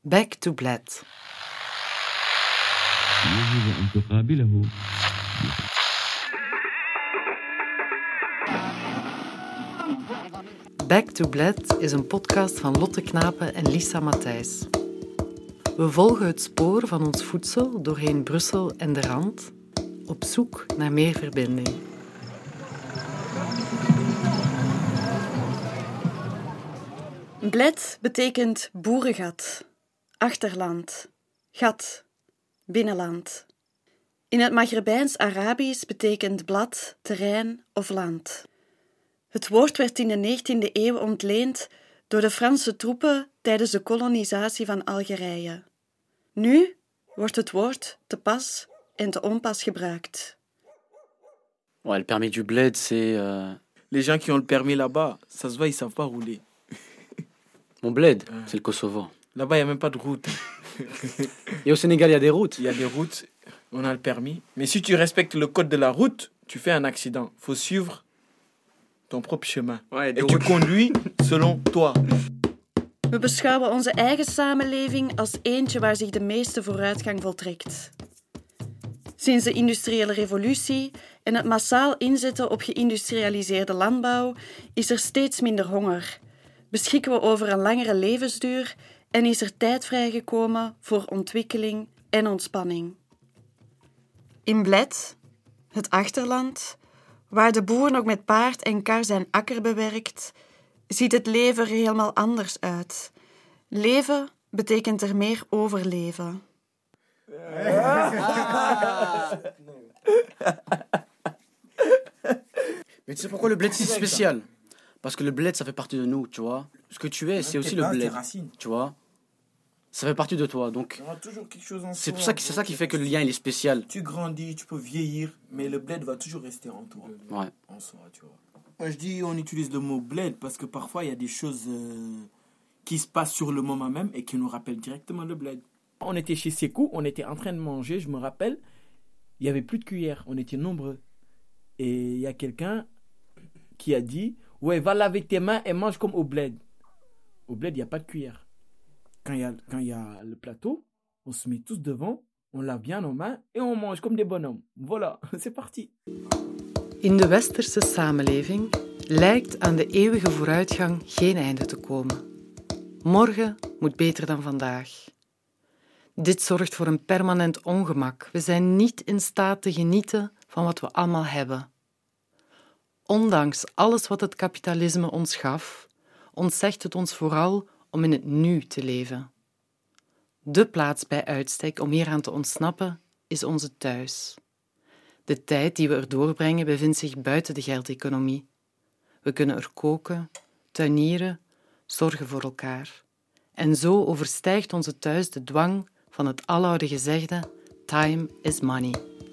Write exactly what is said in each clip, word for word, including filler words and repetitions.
Back to Bled. Back to Bled is een podcast van Lotte Knapen en Lisa Matthijs. We volgen het spoor van ons voedsel doorheen Brussel en de Rand, op zoek naar meer verbinding. Bled betekent boerengat, achterland, gat, binnenland. In het Maghrebijns-Arabisch betekent blad, terrein of land. Het woord werd in de negentiende eeuw ontleend door de Franse troepen tijdens de kolonisatie van Algerije. Nu wordt het woord te pas en te onpas gebruikt. Ouais, le permis du bled, c'est... Euh... Les gens qui ont le permis là-bas, ça se voit, ils savent pas rouler. Mon bled, ouais. C'est le Kosovo. Là-bas, il n'y a même pas de route. Et au Sénégal, il y a des routes. Il y a des routes, on a le permis. Mais si tu respectes le code de la route, tu fais un accident. Il faut suivre ton propre chemin. Ouais, et tu conduis selon toi. We beschouwen onze eigen samenleving als eentje waar zich de meeste vooruitgang voltrekt. Sinds de industriële revolutie en het massaal inzetten op geïndustrialiseerde landbouw is er steeds minder honger. Beschikken we over een langere levensduur en is er tijd vrijgekomen voor ontwikkeling en ontspanning. In Bled, het achterland, waar de boer nog met paard en kar zijn akker bewerkt, ziet het leven er helemaal anders uit. Leven betekent er meer overleven. Mais tu sais pourquoi le bled c'est si spécial? Parce que le bled, ça fait partie de nous, tu vois. Ce que tu es, c'est aussi le bled, tu vois. Ça fait partie de toi, donc c'est pour ça que c'est ça qui fait que le lien il est spécial. Tu grandis, tu peux vieillir, mais le bled va toujours rester en toi. Ouais. En soi, tu vois. Moi, je dis, on utilise le mot bled parce que parfois il y a des choses euh, qui se passent sur le moment même et qui nous rappellent directement le bled. On était chez Sekou, on était en train de manger, je me rappelle, il y avait plus de cuillères, on était nombreux. Et il y a quelqu'un qui a dit, ouais, va laver tes mains et mange comme au bled. Au bled, il n'y a pas de cuillère. Quand il y a, quand il y a le plateau, on se met tous devant, on lave bien nos mains et on mange comme des bonhommes. Voilà, c'est parti. In de westerse samenleving lijkt aan de eeuwige vooruitgang geen einde te komen. Morgen moet beter dan vandaag. Dit zorgt voor een permanent ongemak. We zijn niet in staat te genieten van wat we allemaal hebben. Ondanks alles wat het kapitalisme ons gaf, ontzegt het ons vooral om in het nu te leven. De plaats bij uitstek om hieraan te ontsnappen is onze thuis. De tijd die we er doorbrengen bevindt zich buiten de geldeconomie. We kunnen er koken, tuinieren, zorgen voor elkaar. En zo overstijgt onze thuis de dwang van het aloude gezegde time is money.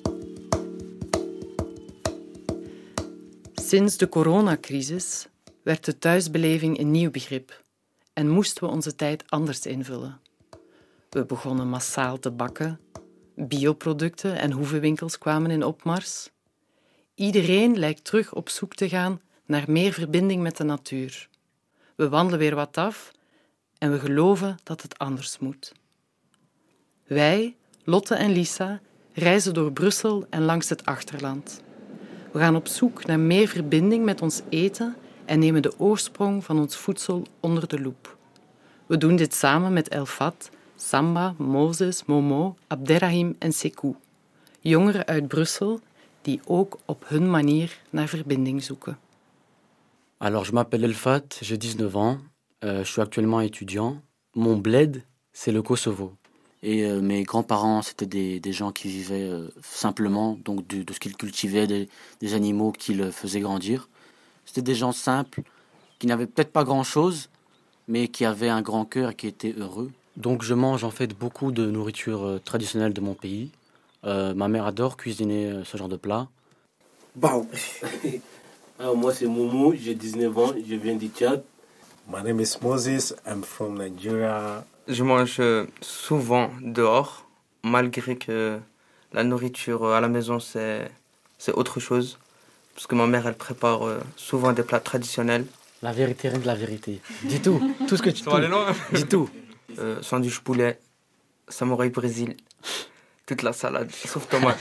Sinds de coronacrisis werd de thuisbeleving een nieuw begrip en moesten we onze tijd anders invullen. We begonnen massaal te bakken, bioproducten en hoevenwinkels kwamen in opmars. Iedereen lijkt terug op zoek te gaan naar meer verbinding met de natuur. We wandelen weer wat af en we geloven dat het anders moet. Wij, Lotte en Lisa, reizen door Brussel en langs het achterland. We gaan op zoek naar meer verbinding met ons eten en nemen de oorsprong van ons voedsel onder de loep. We doen dit samen met Elfat, Samba, Moses, Momo, Abderrahim en Sekou. Jongeren uit Brussel die ook op hun manier naar verbinding zoeken. Alors, je m'appelle Elfat, j'ai dix-neuf ans, euh, je suis actuellement étudiant. Mon bled, c'est le Kosovo. Et euh, mes grands-parents, c'était des, des gens qui vivaient euh, simplement, donc de, de ce qu'ils cultivaient, des, des animaux qu'ils faisaient grandir. C'était des gens simples, qui n'avaient peut-être pas grand-chose, mais qui avaient un grand cœur et qui étaient heureux. Donc je mange en fait beaucoup de nourriture euh, traditionnelle de mon pays. Euh, ma mère adore cuisiner euh, ce genre de plat. Bah. Alors moi c'est Momo, j'ai dix-neuf ans, je viens du Tchad. My name is Moses, I'm from Nigeria. Je mange souvent dehors, malgré que la nourriture à la maison c'est, c'est autre chose. Parce que ma mère elle prépare souvent des plats traditionnels. La vérité, rien que la vérité. Dis tout, tout ce que tu peux. Aller loin. Dis tout. euh, sandwich poulet, samouraï Brésil, toute la salade, sauf tomate.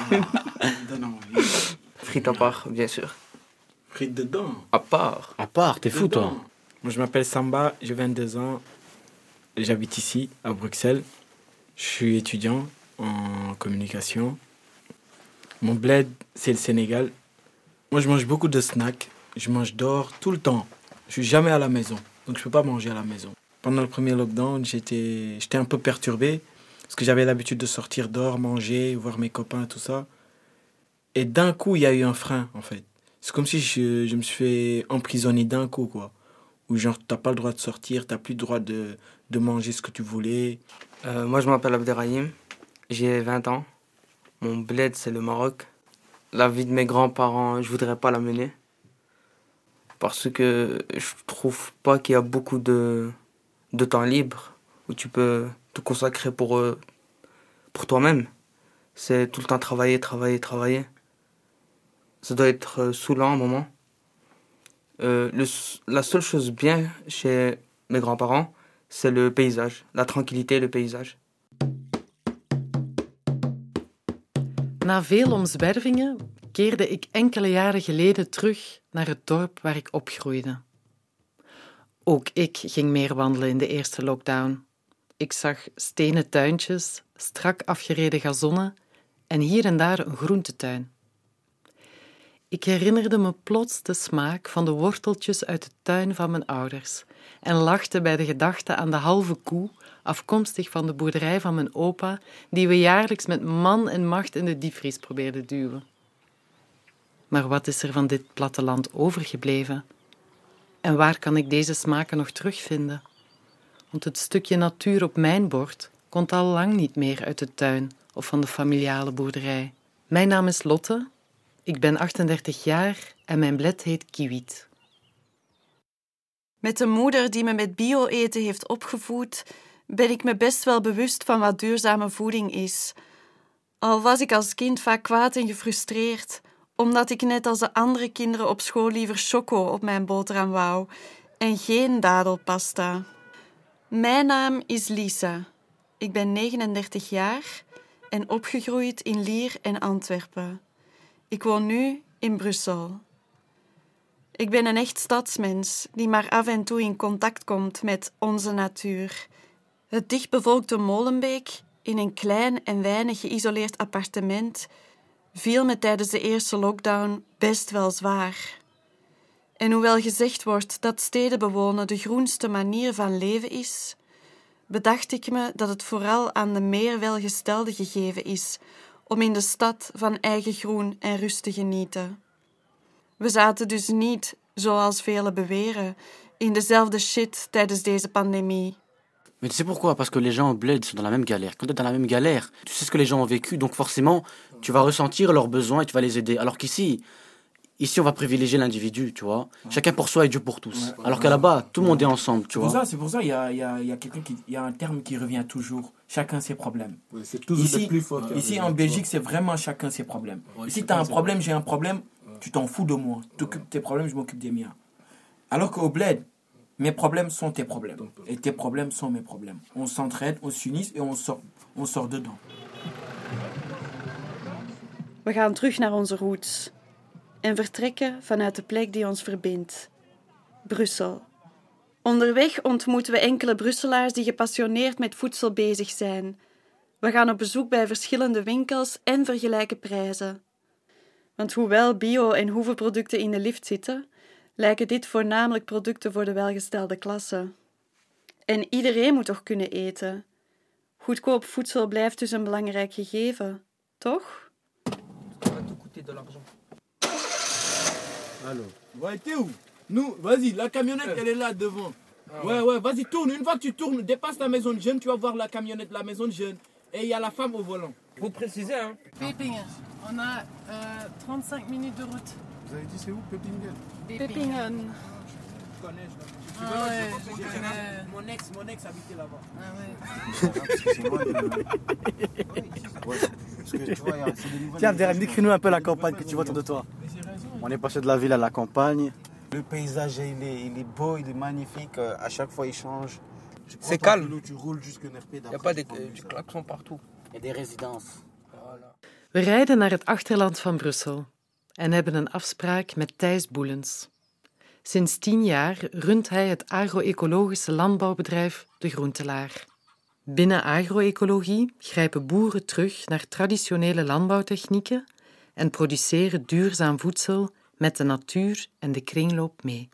Frites à part, bien sûr. Frites dedans. À part. À part, t'es fou, toi. Moi, je m'appelle Samba, j'ai vingt-deux ans. J'habite ici, à Bruxelles. Je suis étudiant en communication. Mon bled, c'est le Sénégal. Moi, je mange beaucoup de snacks. Je mange dehors tout le temps. Je suis jamais à la maison, donc je peux pas manger à la maison. Pendant le premier lockdown, j'étais, j'étais un peu perturbé parce que j'avais l'habitude de sortir dehors, manger, voir mes copains et tout ça. Et d'un coup, il y a eu un frein, en fait. C'est comme si je, je me suis fait emprisonner d'un coup, quoi. Où genre, t'as pas le droit de sortir, t'as plus le droit de, de manger ce que tu voulais. Euh, moi, je m'appelle Abderrahim, j'ai vingt ans. Mon bled, c'est le Maroc. La vie de mes grands-parents, je voudrais pas la mener. Parce que je trouve pas qu'il y a beaucoup de, de temps libre où tu peux te consacrer pour, euh, pour toi-même. C'est tout le temps travailler, travailler, travailler. Ça doit être euh, saoulant un moment. Euh, le, la seule chose bien chez mes grands-parents, c'est le paysage, la tranquillité, le paysage. Na veel omzwervingen keerde ik enkele jaren geleden terug naar het dorp waar ik opgroeide. Ook ik ging meer wandelen in de eerste lockdown. Ik zag stenen tuintjes, strak afgereden gazonnen en hier en daar een groentetuin. Ik herinnerde me plots de smaak van de worteltjes uit de tuin van mijn ouders en lachte bij de gedachte aan de halve koe, afkomstig van de boerderij van mijn opa, die we jaarlijks met man en macht in de diepvries probeerden duwen. Maar wat is er van dit platteland overgebleven? En waar kan ik deze smaken nog terugvinden? Want het stukje natuur op mijn bord komt al lang niet meer uit de tuin of van de familiale boerderij. Mijn naam is Lotte, ik ben achtendertig jaar en mijn bled heet Kiwit. Met een moeder die me met bio-eten heeft opgevoed, ben ik me best wel bewust van wat duurzame voeding is. Al was ik als kind vaak kwaad en gefrustreerd, omdat ik net als de andere kinderen op school liever choco op mijn boterham wou en geen dadelpasta. Mijn naam is Lisa. Ik ben negenendertig jaar en opgegroeid in Lier en Antwerpen. Ik woon nu in Brussel. Ik ben een echt stadsmens die maar af en toe in contact komt met onze natuur. Het dichtbevolkte Molenbeek, in een klein en weinig geïsoleerd appartement, viel me tijdens de eerste lockdown best wel zwaar. En hoewel gezegd wordt dat steden bewonen de groenste manier van leven is, bedacht ik me dat het vooral aan de meer welgestelden gegeven is om in de stad van eigen groen en rust te genieten. We zaten dus niet, zoals velen beweren, in dezelfde shit tijdens deze pandemie. Mais tu sais pourquoi? Parce que les gens au bled sont dans la même galère. Quand tu es dans la même galère, tu sais ce que les gens ont vécu, donc forcément, tu vas ressentir leurs besoins et tu vas les aider. Alors qu'ici, ici, on va privilégier l'individu, tu vois. Ouais. Chacun pour soi et Dieu pour tous. Ouais. Alors qu'à là-bas, tout le monde est ensemble, tu c'est vois. Pour ça, c'est pour ça qu'il y a, y a, y a quelqu'un qui, y a un terme qui revient toujours. Chacun ses problèmes. Ouais, c'est toujours ici, le plus fort. Ici, en Belgique, c'est vraiment chacun ses problèmes. Ouais, si tu as un problème, j'ai un problème, ouais. Tu t'en fous de moi. Tu t'occupes de tes problèmes, je m'occupe des miens. Alors qu'au bled, mes problèmes sont tes problèmes. Et tes problèmes sont mes problèmes. On s'entraide, on s'unit et on sort, on sort dedans. We gaan terug naar onze roots en vertrekken vanuit de plek die ons verbindt. Brussel. Onderweg ontmoeten we enkele Brusselaars die gepassioneerd met voedsel bezig zijn. We gaan op bezoek bij verschillende winkels en vergelijken prijzen. Want hoewel bio- en hoevenproducten in de lift zitten, lijken dit voornamelijk producten voor de welgestelde klasse. En iedereen moet toch kunnen eten? Goedkoop voedsel blijft dus een belangrijk gegeven, toch? Alors, ouais, t'es où? Nous, vas-y, la camionnette, elle est là devant. Ouais, ouais, vas-y, tourne. Une fois que tu tournes, dépasse la maison de jeunes, tu vas voir la camionnette de la maison de jeunes. Et il y a la femme au volant. Faut préciser, hein. Pepingen. On a euh, trente-cinq minutes de route. Vous avez dit c'est où, Pepingen? Pepingen. Je connais, je Ah ouais, je connais. Mon ex, mon ex habitait là-bas. Ah ouais. Parce que c'est moi de... Ouais, parce que tu vois, c'est des nouvelles... Tiens, Abderrahim, décris-nous un peu la campagne que tu vois autour de toi. On est passé de la ville à la campagne. Le paysage, il est, il est beau, il est magnifique. À chaque fois, il change. C'est calme. Vélo, tu roules jusqu'à N R P. Il n'y a pas des euh, du klaxon partout. Et des résidences. Voilà. We rijden naar het achterland van Brussel en hebben een afspraak met Thijs Boelens. Sinds tien jaar runt hij het agro-ecologische landbouwbedrijf De Groentelaar. Binnen agro-ecologie grijpen boeren terug naar traditionele landbouwtechnieken en produceren duurzaam voedsel met de natuur en de kringloop mee.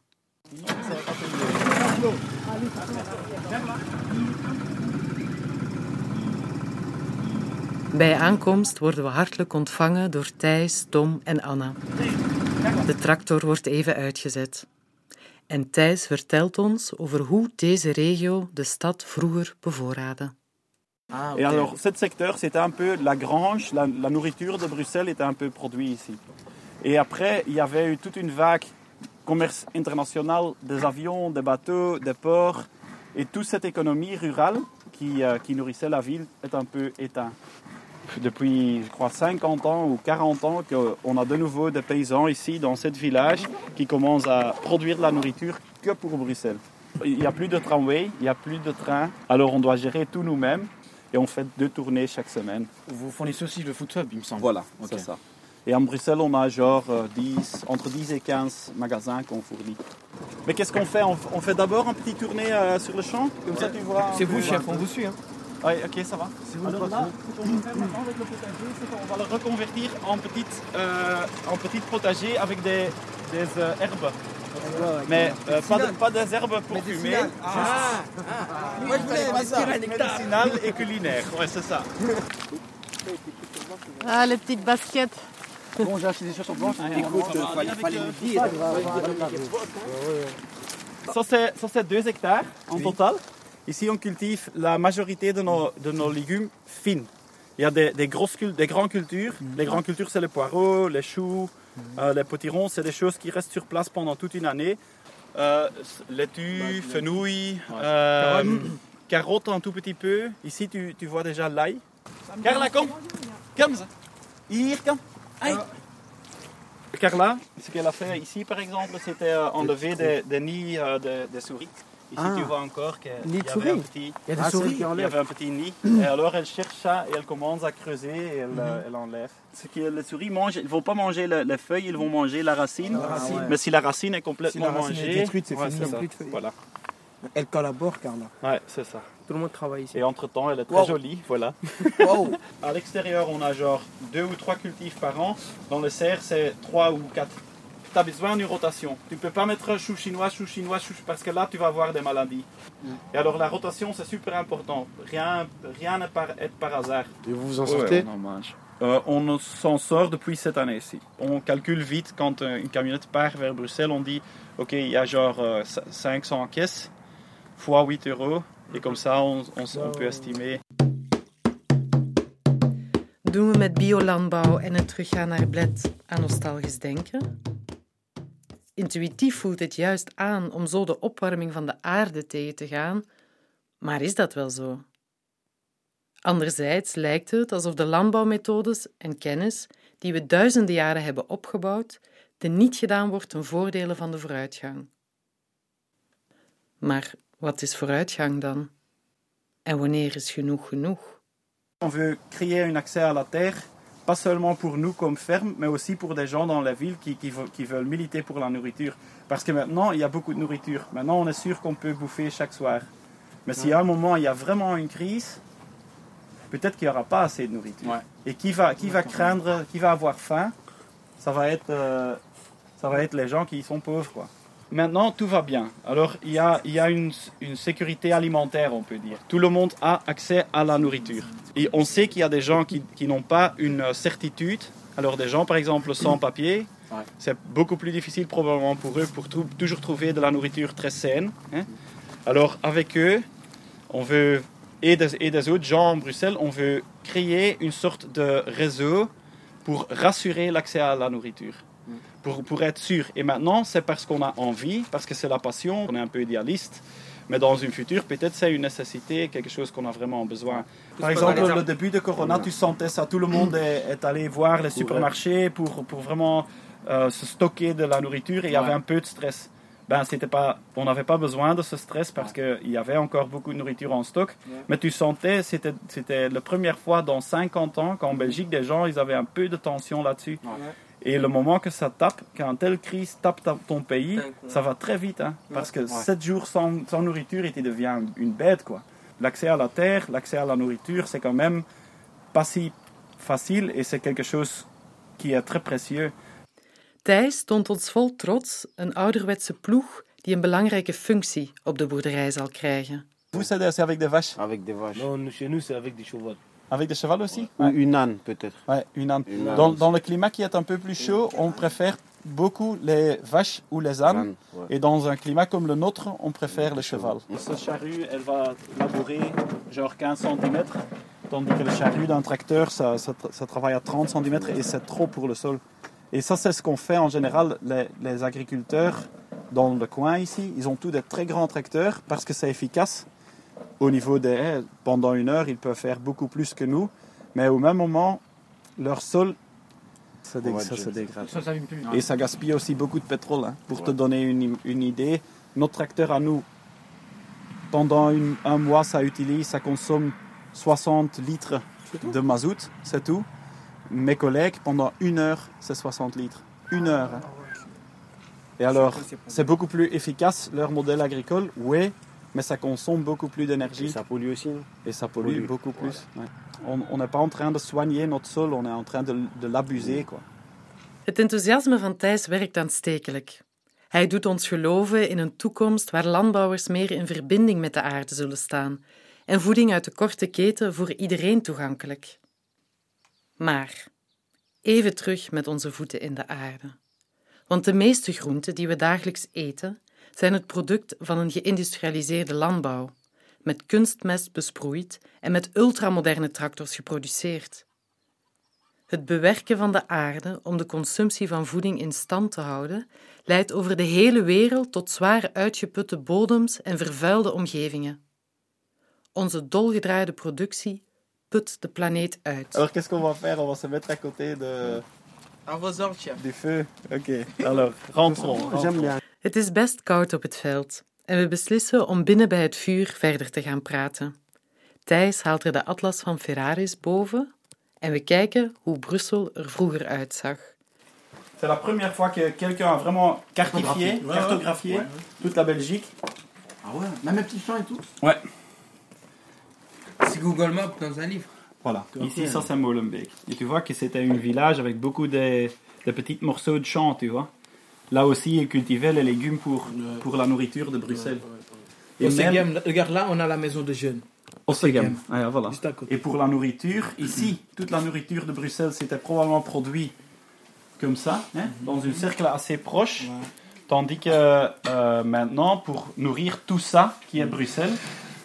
Bij aankomst worden we hartelijk ontvangen door Thijs, Tom en Anna. De tractor wordt even uitgezet. En Thijs vertelt ons over hoe deze regio de stad vroeger bevoorraadde. Ah, Et alors, ce secteur, c'était un peu la grange, la, la nourriture de Bruxelles était un peu produite ici. Et après, il y avait eu toute une vague commerce international des avions, des bateaux, des ports. Et toute cette économie rurale qui, euh, qui nourrissait la ville est un peu éteinte. Depuis, je crois, cinquante ans ou quarante ans qu'on a de nouveau des paysans ici, dans ce village, qui commencent à produire de la nourriture que pour Bruxelles. Il n'y a plus de tramway, il n'y a plus de train, alors on doit gérer tout nous-mêmes et on fait deux tournées chaque semaine. Vous fournissez aussi le food hub, il me semble. Voilà, Okay. c'est ça. Et en Bruxelles, on a genre euh, dix, entre dix et quinze magasins qu'on fournit. Mais qu'est-ce qu'on fait? On, on fait d'abord un petit tournée euh, sur le champ, comme ça tu vois. C'est vous, chef, on vous suit. Hein. Oui, ok, ça va. Alors là, ce qu'on va faire maintenant avec le potager, c'est qu'on va le reconvertir en petite, euh, en petite potager avec des, des euh, herbes. Mais euh, pas, de, pas des herbes pour fumer, Ah, moi je voulais médicinales et culinaires. Ouais, c'est ça. Ah, les petites baskets. Bon, j'ai acheté des chaussures blanches. Écoute, il fallait me dire. Ça, c'est, ça, c'est deux hectares en total. Ici, on cultive la majorité de nos, de nos légumes fines. Il y a des, des, grosses, des grandes cultures. Mm-hmm. Les grandes cultures, c'est les poireaux, les choux, mm-hmm. euh, les potirons. C'est des choses qui restent sur place pendant toute une année. Euh, laitue, fenouil, ouais. euh, carottes un tout petit peu. Ici, tu, tu vois déjà l'ail. Carla, kom. Kom ze. Hier, kom. Aïe. Carla, ce qu'elle a fait ici, par exemple, c'était euh, enlever des, des nids euh, de, des souris. Ici, ah. tu vois encore qu'il y, un petit, il y a des souris. Il y avait un petit nid. Et alors, elle cherche ça et elle commence à creuser et elle, mm-hmm. elle enlève. Ce que les souris mangent, ils ne vont pas manger le, les feuilles, ils vont manger la racine. La racine. Mais si la racine est complètement si la racine mangée, est détruite, c'est ouais, fini. C'est ça. Voilà. Elle collabore, Carla. Ouais, c'est ça. Tout le monde travaille ici. Et entre-temps, elle est très wow. jolie, voilà. Wow. À l'extérieur, on a genre deux ou trois cultifs par an. Dans le serre, c'est trois ou quatre. Tu as besoin d'une rotation. Tu ne peux pas mettre chou chinois, chou chinois, chou, parce que là, tu vas avoir des maladies. Mm. Et alors, la rotation, c'est super important. Rien rien n'est par, être par hasard. Et vous vous en sortez? Ouais, on en mange. Euh, on s'en sort depuis cette année-ci. On calcule vite quand euh, une camionnette part vers Bruxelles. On dit, OK, il y a genre euh, cinq cents caisses, fois huit euros. Et comme ça, on, on, on peut estimer. Doen we met biolandbouw en het teruggaan naar Bled aan nostalgisch denken? Intuïtief voelt het juist aan om zo de opwarming van de aarde tegen te gaan, maar is dat wel zo? Anderzijds lijkt het alsof de landbouwmethodes en kennis die we duizenden jaren hebben opgebouwd, de niet gedaan wordt ten voordele van de vooruitgang. Maar wat is vooruitgang dan? En wanneer is genoeg genoeg? On veut créer un accès à la terre, pas seulement pour nous comme ferme, mais aussi pour des gens dans la ville qui, qui, qui veulent militer pour la nourriture. Parce que maintenant, il y a beaucoup de nourriture. Maintenant, on est sûr qu'on peut bouffer chaque soir. Mais s'il y a un moment, il y a vraiment une crise, peut-être qu'il n'y aura pas assez de nourriture. Ouais. Et qui va, qui va craindre, qui va avoir faim, ça va être, euh, ça va être les gens qui sont pauvres, quoi. Maintenant, tout va bien. Alors, il y a, il y a une, une sécurité alimentaire, on peut dire. Tout le monde a accès à la nourriture. Et on sait qu'il y a des gens qui, qui n'ont pas une certitude. Alors, des gens, par exemple, sans papier, ouais. C'est beaucoup plus difficile probablement pour eux pour trou- toujours trouver de la nourriture très saine. Hein. Alors, avec eux, on veut, et des, et des autres gens en Bruxelles, on veut créer une sorte de réseau pour rassurer l'accès à la nourriture. Pour, pour être sûr. Et maintenant, c'est parce qu'on a envie, parce que c'est la passion, on est un peu idéaliste, mais dans une future, peut-être c'est une nécessité, quelque chose qu'on a vraiment besoin. Par exemple, le début de Corona, tu sentais ça, tout le monde est, est allé voir les supermarchés pour, pour vraiment euh, se stocker de la nourriture et il y avait un peu de stress. ben, c'était pas, on n'avait pas besoin de ce stress parce qu'il y avait encore beaucoup de nourriture en stock. Mais tu sentais, c'était, c'était la première fois dans cinquante ans qu'en Belgique, des gens, ils avaient un peu de tension là-dessus. Et le moment que ça tape, quand telle crise tape ton pays, ça va très vite. Hein, parce que sept jours sans, sans nourriture, et tu deviens une bête, quoi. L'accès à la terre, l'accès à la nourriture, c'est quand même pas si facile et c'est quelque chose qui est très précieux. Thijs toont ons vol trots een ouderwetse ploeg die een belangrijke functie op de boerderij zal krijgen. Vous, c'est avec des vaches? Avec des vaches. Non, chez nous, c'est avec des chevaux. Avec des chevaux aussi? Ou ouais. Une âne, peut-être. Ouais, une âne. Une âne dans, dans le climat qui est un peu plus chaud, on préfère beaucoup les vaches ou les ânes. Âne, ouais. Et dans un climat comme le nôtre, on préfère le cheval. Cette charrue, elle va labourer genre quinze centimètres, tandis que le charrue d'un tracteur, ça, ça, ça travaille à trente centimètres et c'est trop pour le sol. Et ça, c'est ce qu'on fait en général, les, les agriculteurs dans le coin ici. Ils ont tous des très grands tracteurs parce que c'est efficace. Au niveau des haies, pendant une heure, ils peuvent faire beaucoup plus que nous. Mais au même moment, leur sol, ça, dég- ça se dégrade. Ça, ça plus. Et ça gaspille aussi beaucoup de pétrole. Hein. Pour ouais. te donner une, une idée, notre tracteur à nous, pendant une, un mois, ça utilise, ça consomme soixante litres de mazout, c'est tout. Mes collègues, pendant une heure, c'est soixante litres. Une heure. Hein. Et alors, c'est beaucoup plus efficace, leur modèle agricole, oui, mais ça consomme beaucoup plus d'énergie. Et ça pollue aussi. Non? Et ça pollue, pollue. beaucoup plus. Ouais. Ouais. On n'est pas en train de soigner notre sol, on est en train de, de l'abuser. Quoi. Het enthousiasme van Thijs werkt aanstekelijk. Hij doet ons geloven in een toekomst waar landbouwers meer in verbinding met de aarde zullen staan en voeding uit de korte keten voor iedereen toegankelijk. Maar even terug met onze voeten in de aarde. Want de meeste groenten die we dagelijks eten zijn het product van een geïndustrialiseerde landbouw, met kunstmest besproeid en met ultramoderne tractors geproduceerd. Het bewerken van de aarde om de consumptie van voeding in stand te houden, leidt over de hele wereld tot zwaar uitgeputte bodems en vervuilde omgevingen. Onze dolgedraaide productie put de planeet uit. Alors, qu'est-ce qu'on va faire? On va se mettre à côté de... À vos ordres, chef. Du feu. Oké. Okay. Alors, rentrons. J'aime bien. Het is best koud op het veld en we beslissen om binnen bij het vuur verder te gaan praten. Thijs haalt er de atlas van Ferraris boven en we kijken hoe Brussel er vroeger uitzag. C'est la première fois que quelqu'un a vraiment cartographié, ouais, cartographié ouais. toute la Belgique. Ah ouais, même un petit champ et tout. Ouais. C'est Google Maps dans un livre. Voilà. Ici, ça c'est Molenbeek. Et tu vois que c'était un village avec beaucoup de, de petits morceaux de champs, tu vois. Là aussi, ils cultivaient les légumes pour, pour la nourriture de Bruxelles. Et même, regarde là, on a la maison de jeunes. Ossegem. Ah, voilà. Et pour la nourriture, ici, toute la nourriture de Bruxelles, c'était probablement produit comme ça, hein, dans un cercle assez proche. Ouais. Tandis que euh, maintenant, pour nourrir tout ça qui est Bruxelles,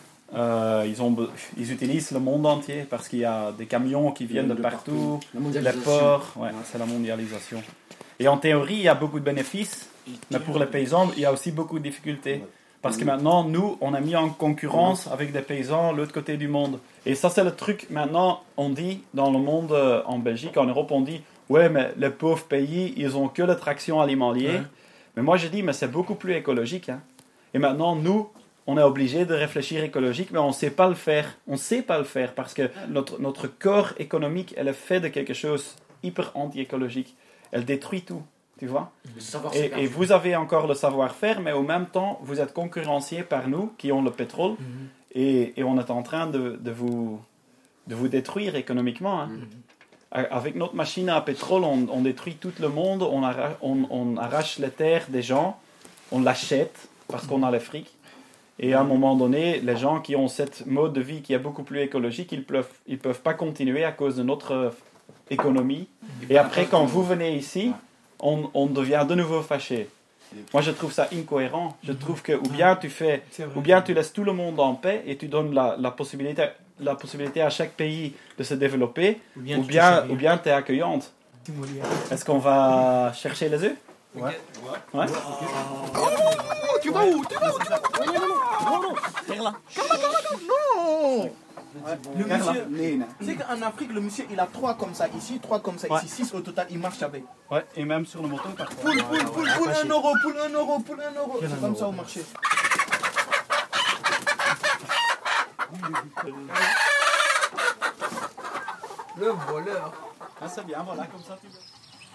euh, ils, ont, ils utilisent le monde entier parce qu'il y a des camions qui viennent de, de partout, partout. Les ports, ouais, c'est la mondialisation. Et en théorie, il y a beaucoup de bénéfices, mais pour les paysans, il y a aussi beaucoup de difficultés. Parce que maintenant, nous, on a mis en concurrence avec des paysans de l'autre côté du monde. Et ça, c'est le truc, maintenant, on dit, dans le monde, en Belgique, en Europe, on dit, ouais, mais les pauvres pays, ils ont que la traction alimentaire. Ouais. Mais moi, je dis, mais c'est beaucoup plus écologique. Hein. Et maintenant, nous, on est obligé de réfléchir écologique, mais on ne sait pas le faire. On ne sait pas le faire parce que notre, notre corps économique, elle est fait de quelque chose hyper anti-écologique. Elle détruit tout, tu vois. Et, et vous avez encore le savoir-faire, mais au même temps, vous êtes concurrenciés par nous qui ont le pétrole mm-hmm. et, et on est en train de, de, vous, de vous détruire économiquement. Hein. Mm-hmm. Avec notre machine à pétrole, on, on détruit tout le monde, on, arrache, on, on arrache les terres des gens, on l'achète parce qu'on a le fric. Et à un moment donné, les gens qui ont cette mode de vie qui est beaucoup plus écologique, ils ne peuvent, ils peuvent pas continuer à cause de notre économie. Et après, quand vous venez ici, on, on devient de nouveau fâché. Moi, je trouve ça incohérent. Je trouve que ou bien tu fais, ou bien tu laisses tout le monde en paix et tu donnes la, la, possibilité, la possibilité à chaque pays de se développer, ou bien, ou bien, ou bien tu es accueillante. Est-ce qu'on va chercher les œufs? Ouais. Ouais. Oh, tu vas où? Tu vas où? Non, non, non, non, non, non, non, non, non, Le monsieur, c'est qu'en Afrique, le monsieur, il a trois comme ça ici, trois comme ça ici, six au total, il marche avec. Ouais, et même sur le moto parfois. Poule, poule, poule, poule, un euro, poule, un euro, poule, un euro. C'est comme ça au marché. Le voleur. Ah, c'est bien, voilà, comme ça tu veux.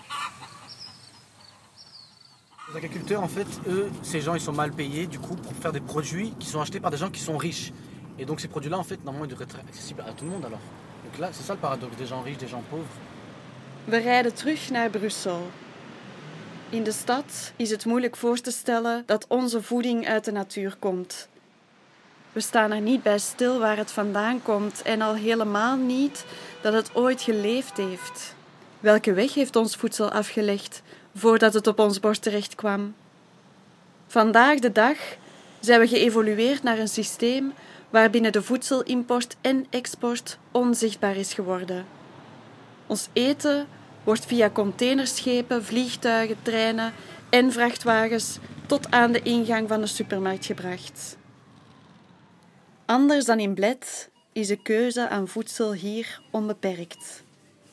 Les agriculteurs, en fait, eux, ces gens, ils sont mal payés, du coup, pour faire des produits qui sont achetés par des gens qui sont riches. Et donc ces produits-là, en fait, normalement, ils devraient être accessibles à tout le monde, alors. Donc là, c'est ça le paradoxe, des gens riches, des gens pauvres. We rijden terug naar Brussel. In de stad is het moeilijk voor te stellen dat onze voeding uit de natuur komt. We staan er niet bij stil waar het vandaan komt en al helemaal niet dat het ooit geleefd heeft. Welke weg heeft ons voedsel afgelegd voordat het op ons bord terecht kwam? Vandaag de dag zijn we geëvolueerd naar een systeem waarbinnen de voedselimport en export onzichtbaar is geworden. Ons eten wordt via containerschepen, vliegtuigen, treinen en vrachtwagens tot aan de ingang van de supermarkt gebracht. Anders dan in Bled is de keuze aan voedsel hier onbeperkt.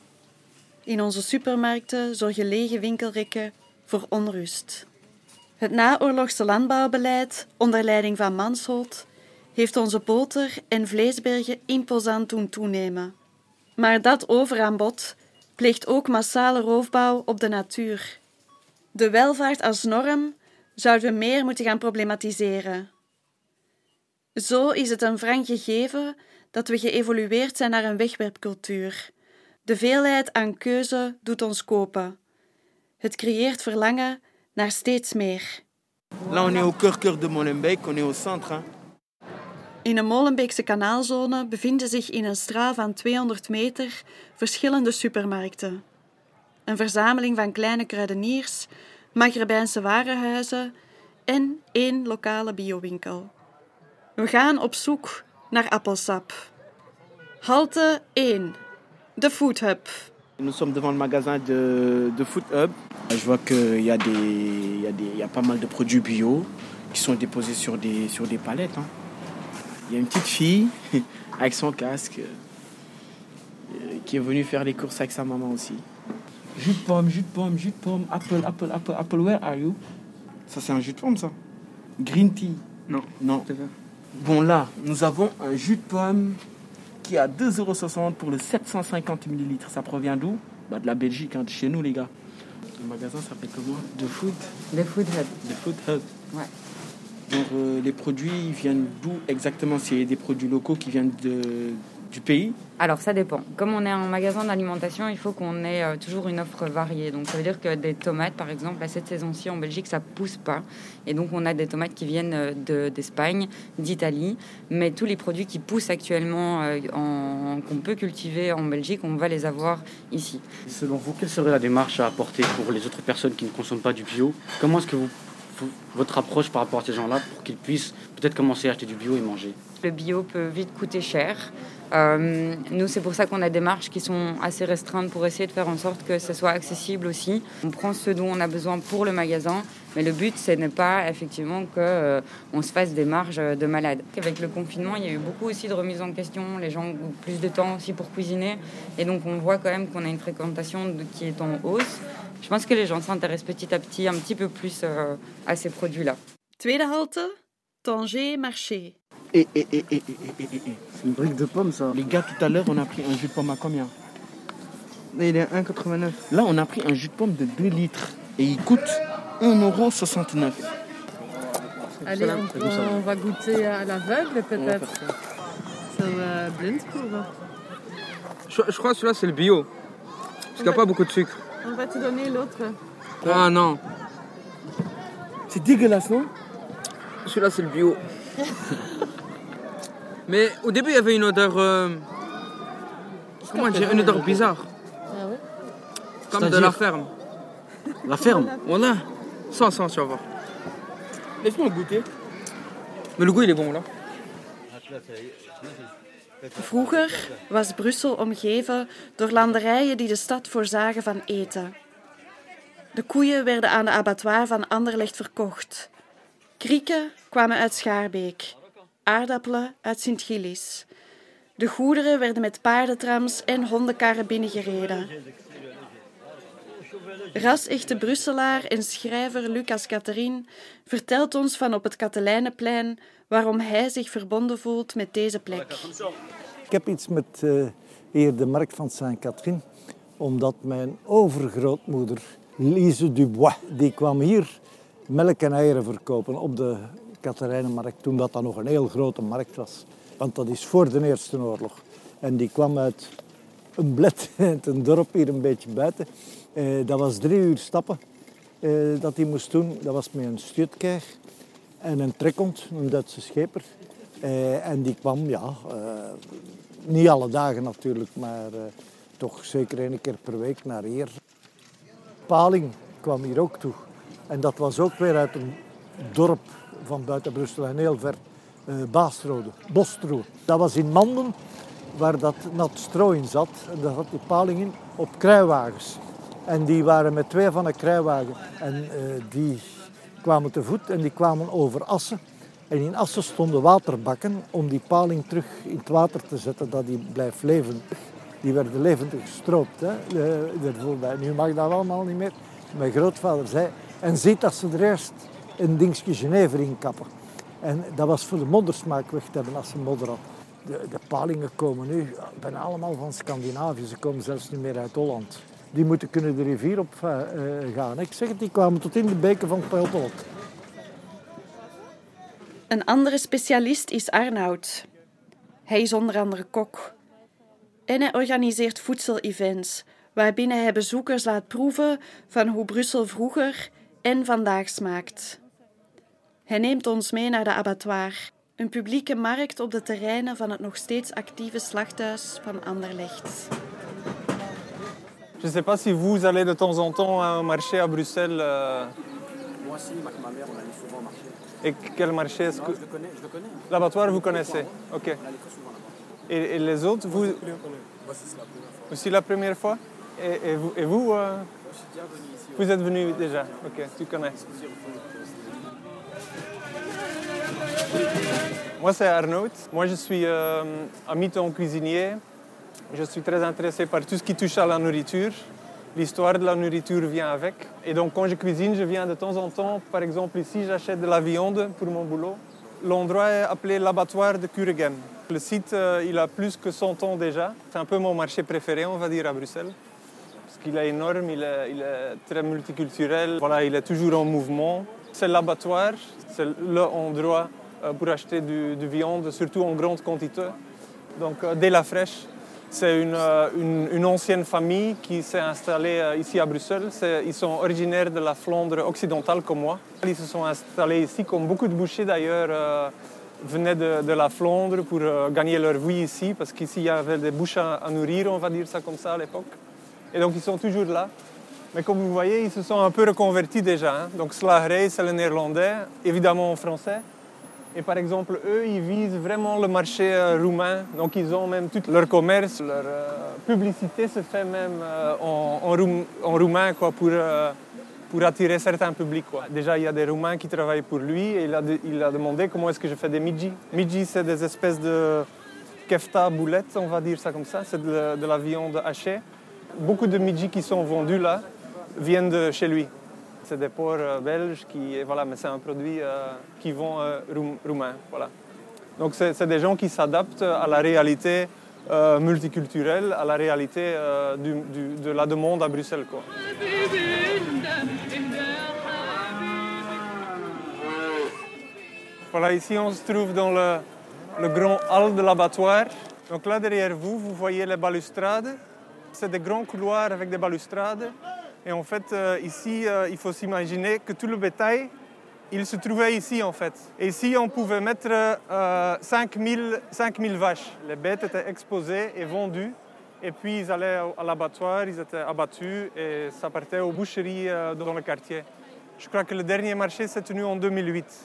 In onze supermarkten zorgen lege winkelrekken voor onrust. Het naoorlogse landbouwbeleid onder leiding van Mansholt heeft onze boter- en vleesbergen imposant doen toenemen. Maar dat overaanbod pleegt ook massale roofbouw op de natuur. De welvaart als norm zouden we meer moeten gaan problematiseren. Zo is het een wrang gegeven dat we geëvolueerd zijn naar een wegwerpcultuur. De veelheid aan keuze doet ons kopen. Het creëert verlangen naar steeds meer. Là, on est au cœur, cœur de Molenbeek, on est au centre. Hein. In de Molenbeekse kanaalzone bevinden zich in een straal van tweehonderd meter verschillende supermarkten. Een verzameling van kleine kruideniers, Maghrebijnse warenhuizen en één lokale biowinkel. We gaan op zoek naar appelsap. Halte één, de Food Hub. Nous sommes devant le magasin de, de Food Hub. Je vois qu'il y a des, il y a des, il y a pas mal de produits bio qui sont déposés sur des, sur des palettes. Hein. Il y a une petite fille avec son casque euh, qui est venue faire les courses avec sa maman aussi. Jus de pomme, jus de pomme, jus de pomme, apple, apple, apple, apple, where are you? Ça c'est un jus de pomme ça. Green tea. Non. Non. Bon là, nous avons un jus de pomme qui est à deux euros soixante pour le sept cent cinquante millilitres. Ça provient d'où? Bah, de la Belgique, hein, de chez nous les gars. Le magasin s'appelle comment? The Food. The Food Hub. The Food Hub. Ouais. Donc euh, les produits ils viennent d'où exactement? C'est des produits locaux qui viennent de, du pays? Alors ça dépend. Comme on est un magasin d'alimentation, il faut qu'on ait euh, toujours une offre variée. Donc ça veut dire que des tomates, par exemple, à cette saison-ci en Belgique, ça pousse pas. Et donc on a des tomates qui viennent de, d'Espagne, d'Italie. Mais tous les produits qui poussent actuellement, euh, en, qu'on peut cultiver en Belgique, on va les avoir ici. Selon vous, quelle serait la démarche à apporter pour les autres personnes qui ne consomment pas du bio? Comment est-ce que vous, vous, votre approche par rapport à ces gens-là pour qu'ils puissent peut-être commencer à acheter du bio et manger? Le bio peut vite coûter cher. Euh, nous, c'est pour ça qu'on a des marges qui sont assez restreintes pour essayer de faire en sorte que ce soit accessible aussi. On prend ce dont on a besoin pour le magasin, mais le but, ce n'est pas effectivement qu'on euh, se fasse des marges de malade. Avec le confinement, il y a eu beaucoup aussi de remises en question. Les gens ont plus de temps aussi pour cuisiner. Et donc, on voit quand même qu'on a une fréquentation de, qui est en hausse. Je pense que les gens s'intéressent petit à petit un petit peu plus euh, à ces produits-là. Tweede halte, Tanger Marché. Et, et, et, et, et, et, et. C'est une brique de pomme, ça. Les gars, tout à l'heure, on a pris un jus de pomme à combien? Là, il est à un euro quatre-vingt-neuf. Là, on a pris un jus de pomme de deux litres. Et il coûte un euro soixante-neuf. Allez, on, on va goûter à l'aveugle, peut-être. C'est un blindproeven. Je, je crois que celui-là, c'est le bio. Parce qu'il n'y a pas beaucoup de sucre. On va te donner l'autre. Ah non. C'est dégueulasse, non? Celui-là, c'est le bio. Mais au début, il y avait une odeur... Euh, comment dire? Une odeur bizarre. Ah ouais? Comme C'est-à-dire de la ferme. La ferme? Voilà. Sans, sans, tu vas voir. Laisse-moi goûter. Mais le goût, il est bon, là. Vroeger was Brussel omgeven door landerijen die de stad voorzagen van eten. De koeien werden aan de abattoir van Anderlecht verkocht. Krieken kwamen uit Schaarbeek, aardappelen uit Sint-Gillis. De goederen werden met paardentrams en hondenkarren binnengereden. Ras-echte Brusselaar en schrijver Lucas Catherine vertelt ons van op het Katelijnenplein waarom hij zich verbonden voelt met deze plek. Ik heb iets met uh, hier de markt van Saint-Catherine, omdat mijn overgrootmoeder, Lise Dubois, die kwam hier melk en eieren verkopen op de Katelijnenmarkt, toen dat dan nog een heel grote markt was. Want dat is voor de Eerste Oorlog. En die kwam uit een bled, een dorp hier een beetje buiten. Uh, dat was drie uur stappen uh, dat hij moest doen. Dat was met een stuurtkeig en een trekhond, een Duitse scheper. Uh, en die kwam, ja, uh, niet alle dagen natuurlijk, maar uh, toch zeker één keer per week naar hier. Paling kwam hier ook toe. En dat was ook weer uit een dorp van buiten Brussel en heel ver. Uh, Baasrode, Bostro. Dat was in Manden, waar dat nat stro in zat. En daar zat die paling in op kruiwagens. En die waren met twee van een kruiwagen. En uh, die kwamen te voet en die kwamen over Assen. En in Assen stonden waterbakken om die paling terug in het water te zetten, dat die blijft leven. Die werden levendig gestroopt. Hè. Uh, nu mag dat allemaal niet meer. Mijn grootvader zei, en ziet dat ze er eerst een dingetje Genever in kappen. En dat was voor de moddersmaak weg te hebben als ze modder had. De, de palingen komen nu bijna allemaal van Scandinavië. Ze komen zelfs niet meer uit Holland. Die moeten kunnen de rivier op uh, gaan. Ik zeg het, die kwamen tot in de beken van Peltolk. Een andere specialist is Arnoud. Hij is onder andere kok. En hij organiseert voedsel-events, waarbinnen hij bezoekers laat proeven van hoe Brussel vroeger en vandaag smaakt. Hij neemt ons mee naar de abattoir, een publieke markt op de terreinen van het nog steeds actieve slachthuis van Anderlecht. Je ne sais pas si vous allez de temps en temps à un marché à Bruxelles. Euh... Moi aussi, ma mère, on allait souvent marcher. Et quel marché est-ce que... Je le connais, je le connais. L'abattoir, vous connaissez? Ok. On allait très souvent là-bas. Et, et les autres, vous... Moi, c'est la première fois. Aussi la première fois? Et, et vous, et vous euh... Je suis déjà venu ici. Vous êtes venu déjà? Ok, tu connais. Moi, c'est Arnaud. Moi, je suis euh, à mi-temps cuisinier. Je suis très intéressé par tout ce qui touche à la nourriture. L'histoire de la nourriture vient avec. Et donc, quand je cuisine, je viens de temps en temps. Par exemple, ici, j'achète de la viande pour mon boulot. L'endroit est appelé l'abattoir de Kuregem. Le site, euh, il a plus que cent ans déjà. C'est un peu mon marché préféré, on va dire, à Bruxelles. Parce qu'il est énorme, il est, il est très multiculturel. Voilà, il est toujours en mouvement. C'est l'abattoir, c'est l'endroit pour acheter du, du viande, surtout en grande quantité. Donc, euh, dès la fraîche. C'est une, une, une ancienne famille qui s'est installée ici à Bruxelles. Ils sont originaires de la Flandre occidentale comme moi. Ils se sont installés ici, comme beaucoup de bouchers d'ailleurs, euh, venaient de, de la Flandre pour euh, gagner leur vie ici, parce qu'ici il y avait des bouches à, à nourrir, on va dire ça comme ça à l'époque. Et donc ils sont toujours là. Mais comme vous voyez, ils se sont un peu reconvertis déjà. Hein. Donc slagerij, c'est le néerlandais, évidemment en français. Et par exemple, eux, ils visent vraiment le marché euh, roumain. Donc, ils ont même tout leur commerce, leur euh, publicité se fait même euh, en, en, roum, en roumain quoi, pour, euh, pour attirer certains publics. Quoi. Déjà, il y a des Roumains qui travaillent pour lui et il a, de, il a demandé comment est-ce que je fais des midji. Midji, c'est des espèces de kefta boulettes, on va dire ça comme ça. C'est de, de la viande hachée. Beaucoup de midji qui sont vendus là viennent de chez lui. C'est des porcs euh, belges, qui, voilà, mais c'est un produit euh, qui vend euh, roum, roumain. Voilà. Donc c'est, c'est des gens qui s'adaptent à la réalité euh, multiculturelle, à la réalité euh, du, du, de la demande à Bruxelles. Quoi. Voilà, ici on se trouve dans le, le grand hall de l'abattoir. Donc là derrière vous, vous voyez les balustrades. C'est des grands couloirs avec des balustrades. Et en fait, euh, ici, euh, il faut s'imaginer que tout le bétail, il se trouvait ici, en fait. Et ici, on pouvait mettre euh, cinq mille vaches. Les bêtes étaient exposées et vendues. Et puis, ils allaient à l'abattoir, ils étaient abattus et ça partait aux boucheries euh, dans le quartier. Je crois que le dernier marché s'est tenu en deux mille huit.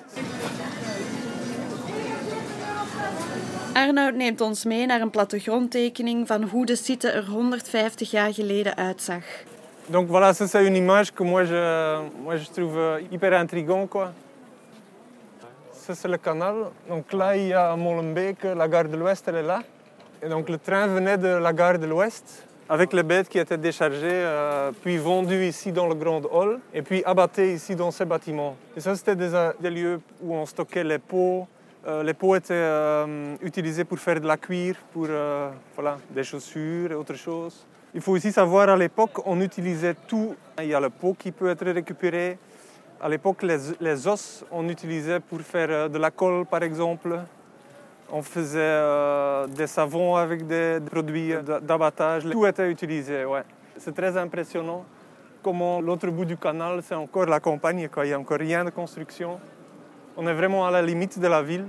Arnoud neemt ons mee naar een plattegrondtekening van hoe de site er honderdvijftig jaar geleden uitzag. Donc voilà, ça c'est une image que moi je, moi je trouve hyper intrigant, quoi. Ça c'est le canal. Donc là il y a Molenbeek, la gare de l'Ouest, elle est là. Et donc le train venait de la gare de l'Ouest, avec les bêtes qui étaient déchargées, euh, puis vendues ici dans le grand hall, et puis abattées ici dans ces bâtiments. Et ça, c'était des, des lieux où on stockait les peaux. Euh, les peaux étaient euh, utilisées pour faire de la cuir, pour euh, voilà, des chaussures et autre chose. Il faut aussi savoir, à l'époque, on utilisait tout. Il y a le peau qui peut être récupéré. À l'époque, les, les os, on utilisait pour faire de la colle, par exemple. On faisait euh, des savons avec des produits d'abattage. Tout était utilisé, ouais. C'est très impressionnant comment l'autre bout du canal, c'est encore la campagne, quoi. Il n'y a encore rien de construction. On est vraiment à la limite de la ville.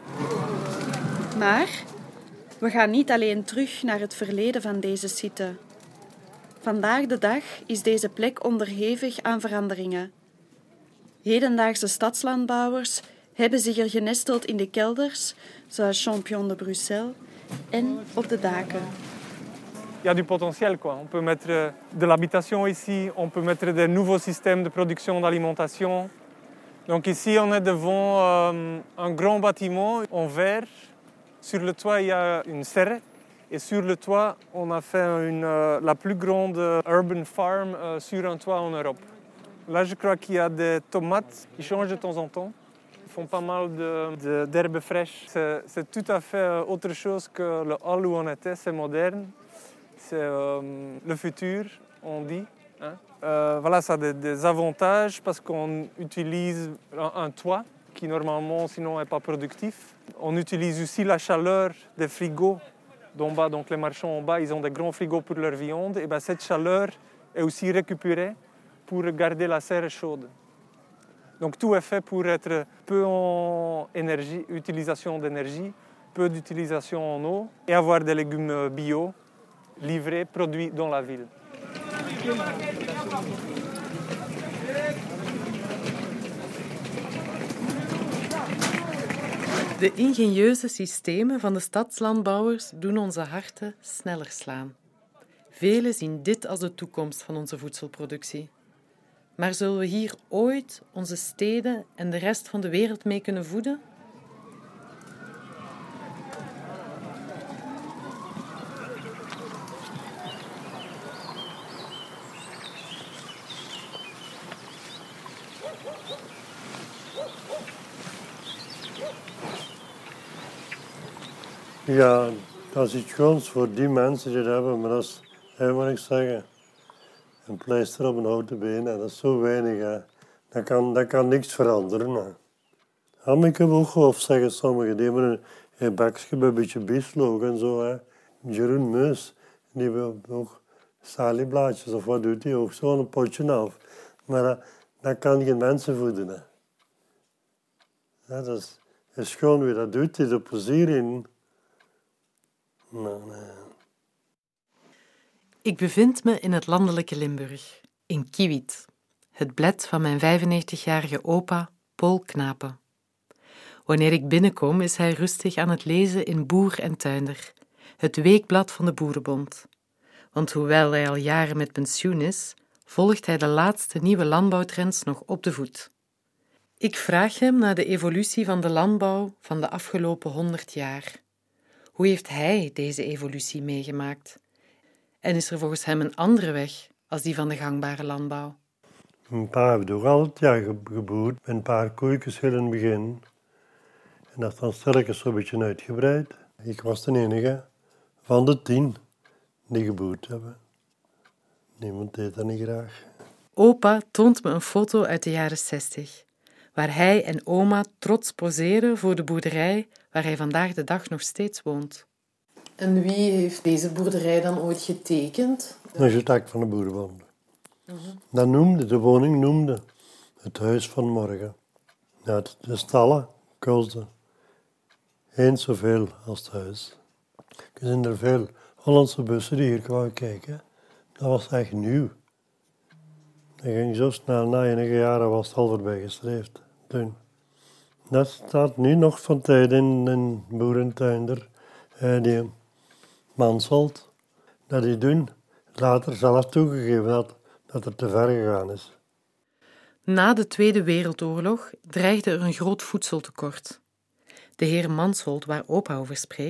Maar we gaan niet alleen terug naar het verleden van deze site. Vandaag de dag is deze plek onderhevig aan veranderingen. Hedendaagse stadslandbouwers hebben zich er genesteld in de kelders, zoals Champion de Bruxelles, en op de daken. Il y a du potentiel, quoi. On peut mettre de l'habitation ici, on peut mettre des nouveaux systèmes de production d'alimentation. Donc ici, on est devant euh, un grand bâtiment en verre. Sur le toit, il y a une serre. Et sur le toit, on a fait une, euh, la plus grande urban farm euh, sur un toit en Europe. Là, je crois qu'il y a des tomates qui changent de temps en temps. Ils font pas mal de, de, d'herbes fraîches. C'est, c'est tout à fait autre chose que le hall où on était. C'est moderne. C'est euh, le futur, on dit. Hein? Euh, voilà, ça a des, des avantages parce qu'on utilise un, un toit qui normalement sinon n'est pas productif. On utilise aussi la chaleur des frigos d'en bas. Donc les marchands en bas, ils ont des grands frigos pour leur viande. Et bien, cette chaleur est aussi récupérée pour garder la serre chaude. Donc tout est fait pour être peu en énergie, utilisation d'énergie, peu d'utilisation en eau et avoir des légumes bio livrés, produits dans la ville. De ingenieuze systemen van de stadslandbouwers doen onze harten sneller slaan. Velen zien dit als de toekomst van onze voedselproductie. Maar zullen we hier ooit onze steden en de rest van de wereld mee kunnen voeden? Ja, dat is iets goeds voor die mensen die het hebben, maar dat is, hè, moet ik zeggen, een pleister op een houten been, hè, dat is zo weinig. Hè. Dat, kan, dat kan niks veranderen. Hè. Ja, ik heb ook gehoord, zeggen sommigen, die hebben een, een bakje bij een beetje bieslook en zo. Hè. Jeroen Meus, die hebben ook salieblaadjes of wat doet hij ook, zo een potje af. Maar dat, dat kan geen mensen voeden. Hè. Ja, dat is, is gewoon wie dat doet, die er plezier in. Nou, nee. Ik bevind me in het landelijke Limburg, in Kiewiet, het bled van mijn vijfennegentigjarige opa, Paul Knapen. Wanneer ik binnenkom, is hij rustig aan het lezen in Boer en Tuinder, het weekblad van de Boerenbond. Want hoewel hij al jaren met pensioen is, volgt hij de laatste nieuwe landbouwtrends nog op de voet. Ik vraag hem naar de evolutie van de landbouw van de afgelopen honderd jaar. Hoe heeft hij deze evolutie meegemaakt? En is er volgens hem een andere weg als die van de gangbare landbouw? Mijn pa heeft ook altijd ja, geboerd met een paar koeikens heel in het begin. En dat is dan stilletjes zo'n beetje uitgebreid. Ik was de enige van de tien die geboerd hebben. Niemand deed dat niet graag. Opa toont me een foto uit de jaren zestig, waar hij en oma trots poseren voor de boerderij waar hij vandaag de dag nog steeds woont. En wie heeft deze boerderij dan ooit getekend? Dat is het hek van de Boerenbond. Uh-huh. Dat noemde, de woning noemde het huis van morgen. Ja, de stallen kostten eens zoveel als het huis. Er zijn er veel Hollandse bussen die hier kwamen kijken. Dat was echt nieuw. Dat ging zo snel, na enige jaren was het al voorbij gestreefd. Toen. Dat staat nu nog van tijd in een boerentuinder, eh, die Mansholt, dat die doen, later zelf toegegeven dat, dat het te ver gegaan is. Na de Tweede Wereldoorlog dreigde er een groot voedseltekort. De heer Mansholt, waar opa over spreekt,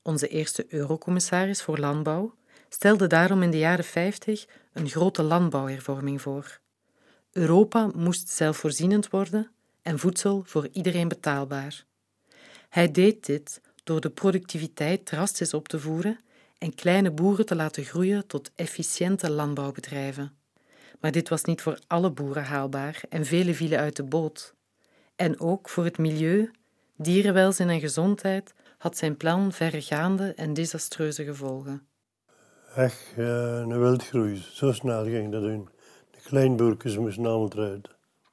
onze eerste eurocommissaris voor landbouw, stelde daarom in de jaren vijftig een grote landbouwhervorming voor. Europa moest zelfvoorzienend worden en voedsel voor iedereen betaalbaar. Hij deed dit door de productiviteit drastisch op te voeren en kleine boeren te laten groeien tot efficiënte landbouwbedrijven. Maar dit was niet voor alle boeren haalbaar en velen vielen uit de boot. En ook voor het milieu, dierenwelzijn en gezondheid had zijn plan verregaande en desastreuze gevolgen. Echt uh, een wildgroei, zo snel ging dat doen. De kleinboertjes moesten allemaal eruit.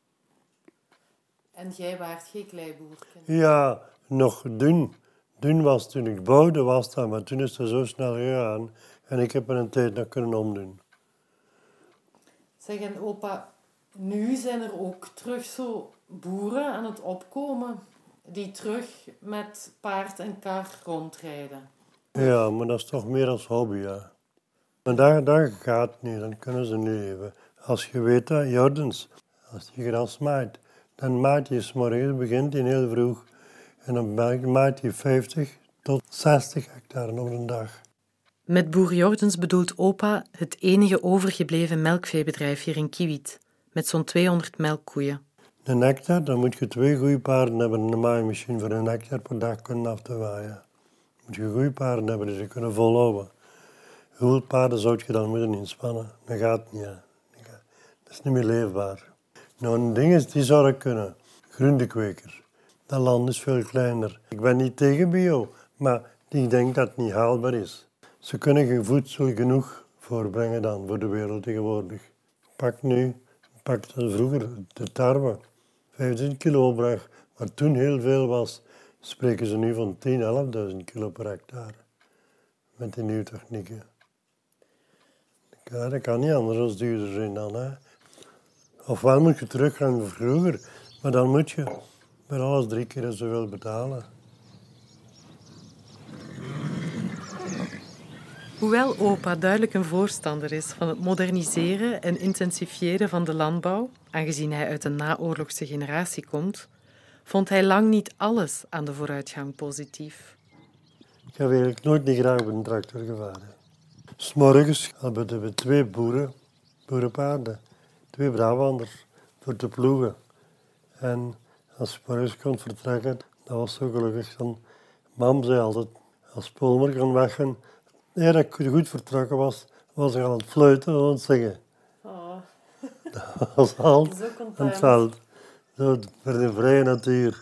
En jij waart geen kleiboertje? Ja, nog dun. Dun was toen ik bouwde, was dat, maar toen is het zo snel gegaan. En ik heb er een tijd nog kunnen omdoen. Zeg, en opa, nu zijn er ook terug zo boeren aan het opkomen die terug met paard en kar rondrijden. Ja, maar dat is toch meer als hobby, ja. Maar dat, dat gaat niet, dan kunnen ze niet leven. Als je weet dat, Jordens, als je gras maait, dan maait je 's morgens, begint hij heel vroeg. En dan maait hij vijftig tot zestig hectare op een dag. Met boer Jordens bedoelt opa het enige overgebleven melkveebedrijf hier in Kiewiet, met zo'n tweehonderd melkkoeien. Een hectare, dan moet je twee goede paarden hebben en een maaimachine voor een hectare per dag kunnen af te waaien. Moet je goede paarden hebben die ze kunnen volhouden. Hoeveel paarden zou je dan moeten inspannen? Dat gaat niet. Ja. Dat is niet meer leefbaar. Nou, een ding is, die zou ik kunnen. Groentekweker. Dat land is veel kleiner. Ik ben niet tegen bio, maar ik denk dat het niet haalbaar is. Ze kunnen geen voedsel genoeg voorbrengen dan voor de wereld tegenwoordig. Pak nu, pak dat vroeger, de tarwe. vijftien kilo opbracht, wat toen heel veel was, spreken ze nu van tien, elfduizend kilo per hectare. Met die nieuwe technieken. Ja, dat kan niet anders als duurder zijn dan. Hè. Ofwel moet je teruggaan naar vroeger, maar dan moet je met alles drie keer zoveel betalen. Hoewel opa duidelijk een voorstander is van het moderniseren en intensifiëren van de landbouw, aangezien hij uit een naoorlogse generatie komt, vond hij lang niet alles aan de vooruitgang positief. Ik heb eigenlijk nooit niet graag op een tractor gevaren. 'S Morgens hadden we twee boeren, boerenpaarden, twee Brabanders, voor te ploegen. En als je morgens kon vertrekken, dat was zo gelukkig. Dan, mam zei altijd, als Polmer kon weggaan, ja, dat ik goed vertrokken was, was ik aan het fluiten en aan het zingen. Oh. Dat was altijd aan het veld. Zo voor de vrije natuur.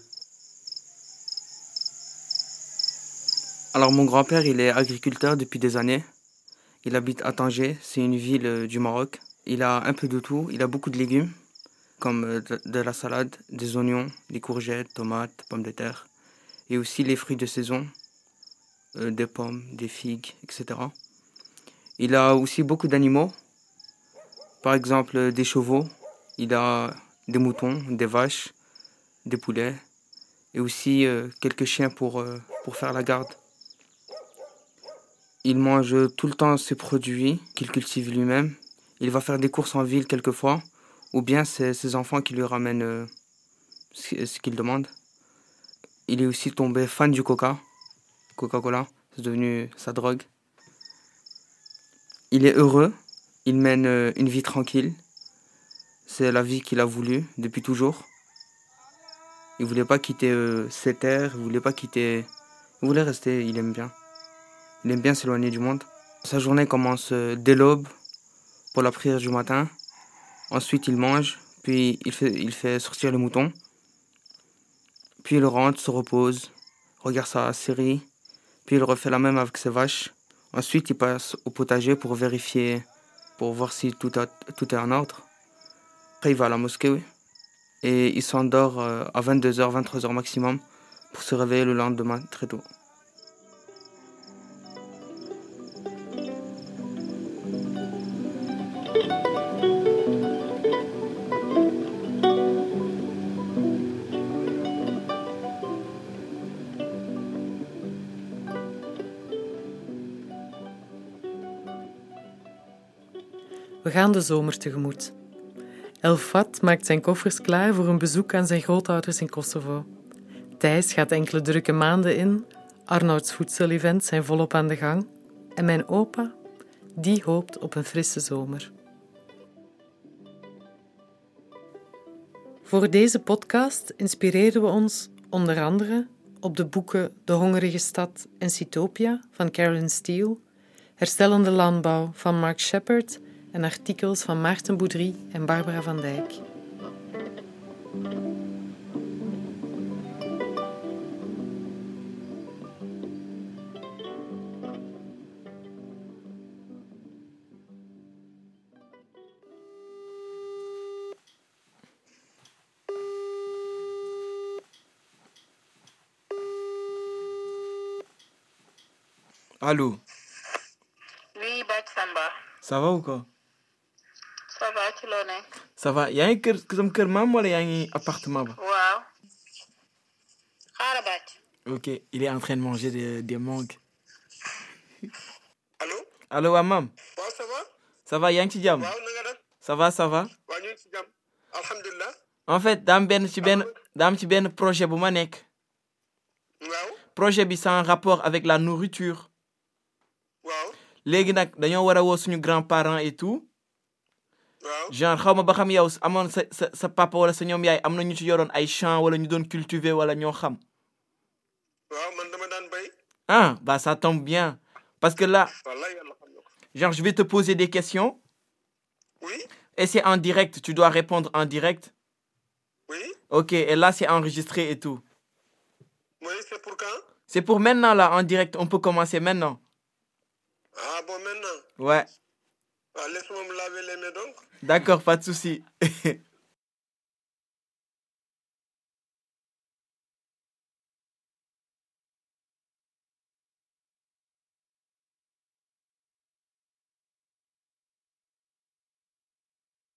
Alors mon grand-père, il est agriculteur depuis des années. Il habite à Tanger, c'est une ville du Maroc. Il a un peu de tout, il a beaucoup de légumes, comme de, de la salade, des oignons, des courgettes, tomates, pommes de terre. Et aussi les fruits de saison, euh, des pommes, des figues, et cetera. Il a aussi beaucoup d'animaux, par exemple des chevaux, il a des moutons, des vaches, des poulets, et aussi euh, quelques chiens pour, euh, pour faire la garde. Il mange tout le temps ses produits qu'il cultive lui-même. Il va faire des courses en ville quelquefois, ou bien c'est ses enfants qui lui ramènent euh, ce, ce qu'il demande. Il est aussi tombé fan du coca, Coca-Cola, c'est devenu sa drogue. Il est heureux, il mène euh, une vie tranquille. C'est la vie qu'il a voulu depuis toujours. Il ne voulait pas quitter euh, ses terres, il ne voulait pas quitter... Il voulait rester, il aime bien. Il aime bien s'éloigner du monde. Sa journée commence euh, dès l'aube, pour la prière du matin. Ensuite, il mange, puis il fait, il fait sortir les moutons. Puis il rentre, se repose, regarde sa série. Puis il refait la même avec ses vaches. Ensuite, il passe au potager pour vérifier, pour voir si tout, a, tout est en ordre. Après, il va à la mosquée, oui. Et il s'endort euh, à vingt-deux heures, vingt-trois heures maximum pour se réveiller le lendemain très tôt. We gaan de zomer tegemoet. Elfat maakt zijn koffers klaar voor een bezoek aan zijn grootouders in Kosovo. Thijs gaat enkele drukke maanden in Arnouds voedselevents zijn volop aan de gang. En mijn opa, die hoopt op een frisse zomer. Voor deze podcast inspireren we ons onder andere op de boeken De Hongerige Stad en Citopia van Carolyn Steele, Herstellende Landbouw van Mark Shepard en artikels van Maarten Boudry en Barbara van Dijk. Allô? Oui, Bach Samba. Ça va ou quoi? Ça va, ci loo nekk? Ça va. Yaa ngi kër sama kër maam wala yaa ngi appartement ba? Waaw. Xaaral Bach. Ok, il est en train de manger des, des mangues. Allô? Allô, waa maam? waaw ça va? Ça va, yaa ngi ci jàmm? waaw na nga def? Ça va, ça va? waaw ñu ngi ci jàmm. Alhamdulilah. En fait, daam benn ci benn daam ci benn projet bu ma nekk. waaw. Projet bi c'est en rapport avec la nourriture. waaw. léegi nag dañoo war a woo suñu grands-parents et tout. waaw. genre xaw ma ba xam yow amoon sa sa sa papa wala sa ñoom yaay am na ñu ci yoroon ay champs wala ñu doon cultiver wala ñoo xam. waaw man dama daan bay. Ah, bah ça tombe bien. Parce que là, wallaay yàlla xam na ko. genre je vais te poser des questions. Oui. Et c'est en direct, tu dois répondre en direct. Oui. Ok, et là c'est enregistré et tout. Oui, c'est pour quand? C'est pour maintenant là, en direct, on peut commencer maintenant. Ah bon, maintenant? Ouais. Ah, laisse-moi me laver les mains donc. D'accord, pas de souci.